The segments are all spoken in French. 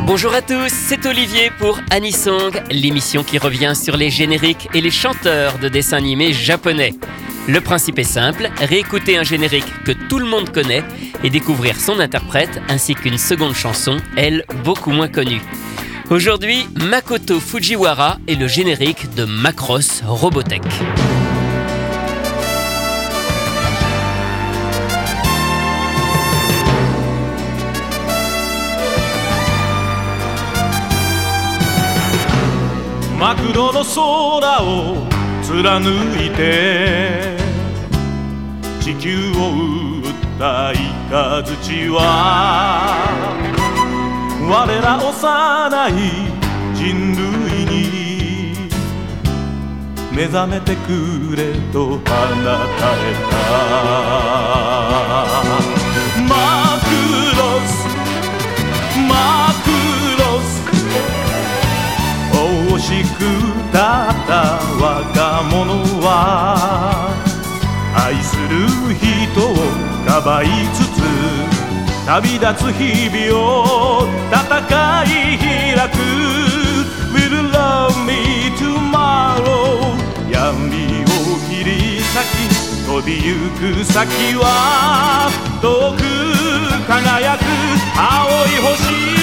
Bonjour à tous, c'est Olivier pour Anisong, l'émission qui revient sur les génériques et les chanteurs de dessins animés japonais. Le principe est simple, réécouter un générique que tout le monde connaît et découvrir son interprète ainsi qu'une seconde chanson, elle, beaucoup moins connue. Aujourd'hui, Makoto Fujiwara et le générique de Macross Robotech. マクロの空を貫いて地球を撃ったイカズチは我ら幼い人類に目覚めてくれと放たれたマクロス惜しくたった若者は愛する人をかばいつつ旅立つ日々を戦い開く Will you love me tomorrow 闇を切り裂き飛びゆく先は遠く輝く青い星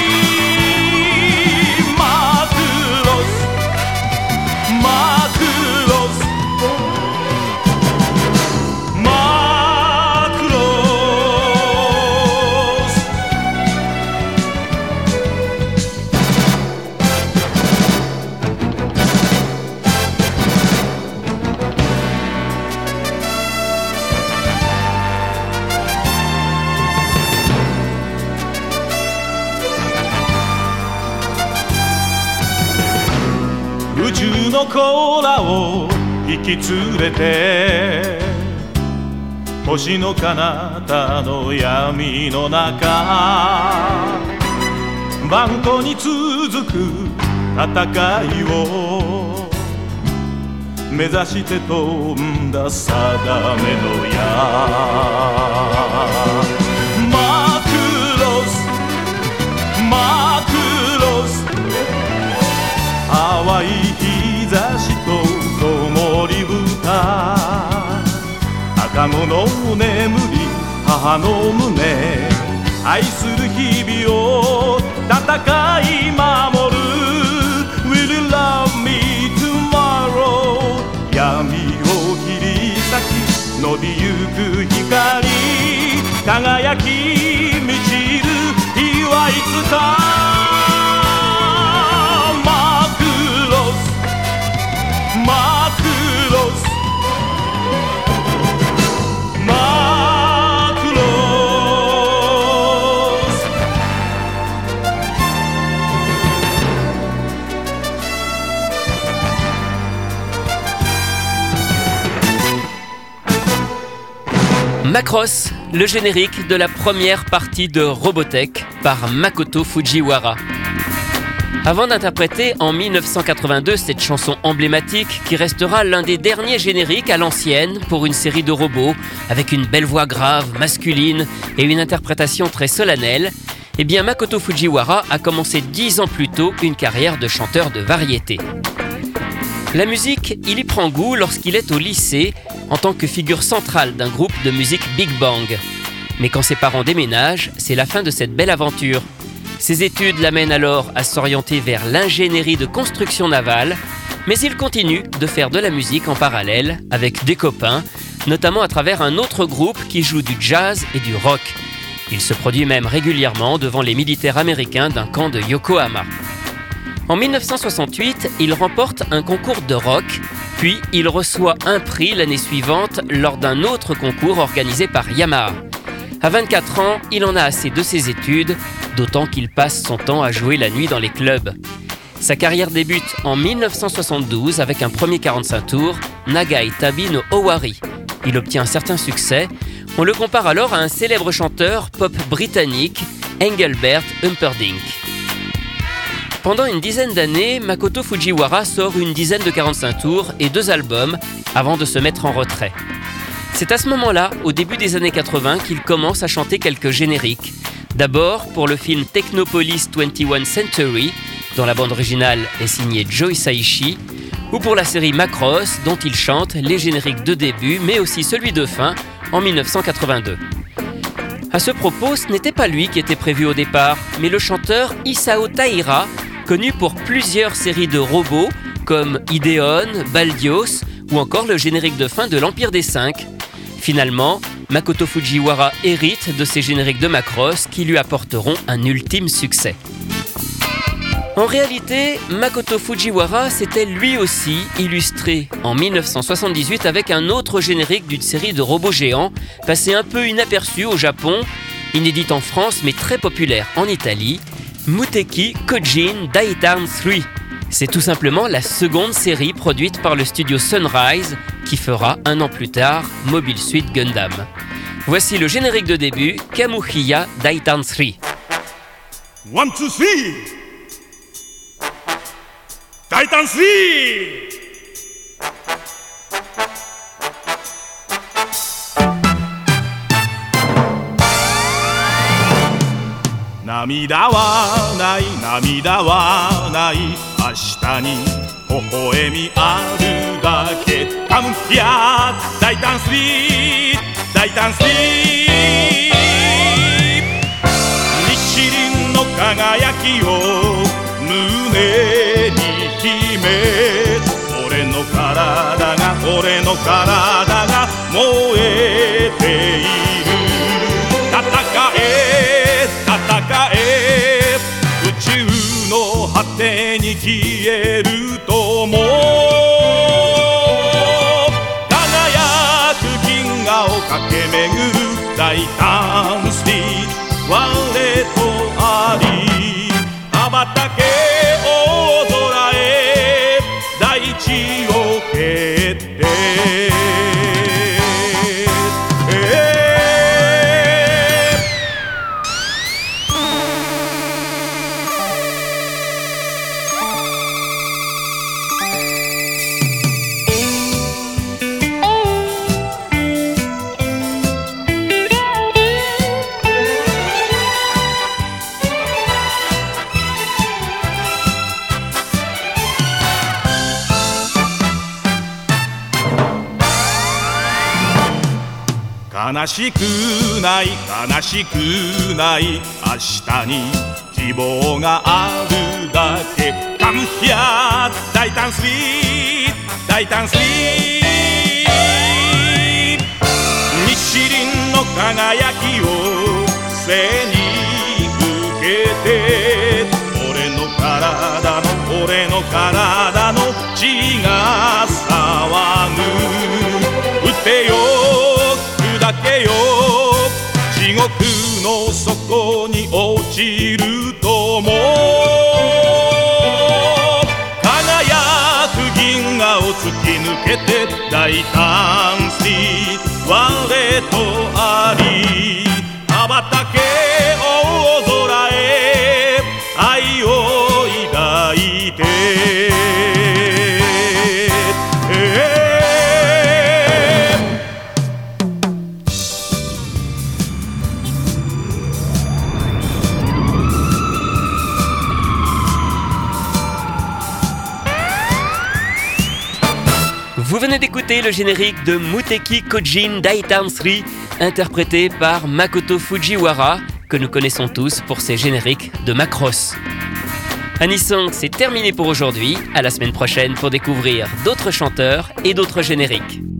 宇宙の子らを引き連れて星の彼方の闇の中万古に続く戦いを目指して飛んだ定めの矢マクロス淡い日差しと灯り豚赤子の眠り母の胸愛する日々を戦い守る Will you love me tomorrow 闇を切り裂き伸びゆく光輝き満ちる日はいつか Macross, le générique de la première partie de Robotech par Makoto Fujiwara. Avant d'interpréter en 1982 cette chanson emblématique qui restera l'un des derniers génériques à l'ancienne pour une série de robots avec une belle voix grave, masculine et une interprétation très solennelle, eh bien Makoto Fujiwara a commencé 10 ans plus tôt une carrière de chanteur de variété. La musique, il y prend goût lorsqu'il est au lycée en tant que figure centrale d'un groupe de musique Big Bang. Mais quand ses parents déménagent, c'est la fin de cette belle aventure. Ses études l'amènent alors à s'orienter vers l'ingénierie de construction navale, mais il continue de faire de la musique en parallèle avec des copains, notamment à travers un autre groupe qui joue du jazz et du rock. Il se produit même régulièrement devant les militaires américains d'un camp de Yokohama. En 1968, il remporte un concours de rock, puis il reçoit un prix l'année suivante lors d'un autre concours organisé par Yamaha. À 24 ans, il en a assez de ses études, d'autant qu'il passe son temps à jouer la nuit dans les clubs. Sa carrière débute en 1972 avec un premier 45 tours, Nagai Tabi no Owari. Il obtient un certain succès. On le compare alors à un célèbre chanteur pop britannique, Engelbert Humperdinck. Pendant une dizaine d'années, Makoto Fujiwara sort une dizaine de 45 tours et 2 albums avant de se mettre en retrait. C'est à ce moment-là, au début des années 80, qu'il commence à chanter quelques génériques, D'abord pour le film Technopolis 21 Century, dont la bande originale est signée Joe Hisaishi, ou pour la série Macross, dont il chante les génériques de début, mais aussi celui de fin, en 1982. À ce propos, ce n'était pas lui qui était prévu au départ, mais le chanteur Isao Taira, connu pour plusieurs séries de robots, comme Ideon, Baldios, ou encore le générique de fin de l'Empire des 5. Finalement, Makoto Fujiwara hérite de ces génériques de Macross qui lui apporteront un ultime succès. En réalité, Makoto Fujiwara s'était lui aussi illustré en 1978 avec un autre générique d'une série de robots géants, passé un peu inaperçu au Japon, inédite en France mais très populaire en Italie, Muteki Kojin Daitan 3. C'est tout simplement la seconde série produite par le studio Sunrise qui fera un an plus tard Mobile Suit Gundam. Voici le générique de début, Kamuhiya Daitan 3. 1, 2, 3! 大胆3! 涙はない涙はない明日に微笑みあるだけカムヒア大胆3大胆3日輪の輝きを胸に秘め俺の体が燃えている戦え宇宙の果てに消えるとも輝く銀河を駆け巡る大胆スピード我とあり羽ばたけ大空へ大地を蹴って悲しくない悲しくない明日に希望があるだけカムヒア大胆スリー大胆スリー日輪の輝きを背に受けて俺の体の血が騒ぐ撃てよだけよ地獄の底に落ちるとも輝く銀河を突き抜けて大胆スリー我とあり羽ばたけ大空へ愛を抱いて Vous venez d'écouter le générique de Muteki Kojin Daitan 3, interprété par Makoto Fujiwara, que nous connaissons tous pour ses génériques de Macross. Anisong, c'est terminé pour aujourd'hui. À la semaine prochaine pour découvrir d'autres chanteurs et d'autres génériques.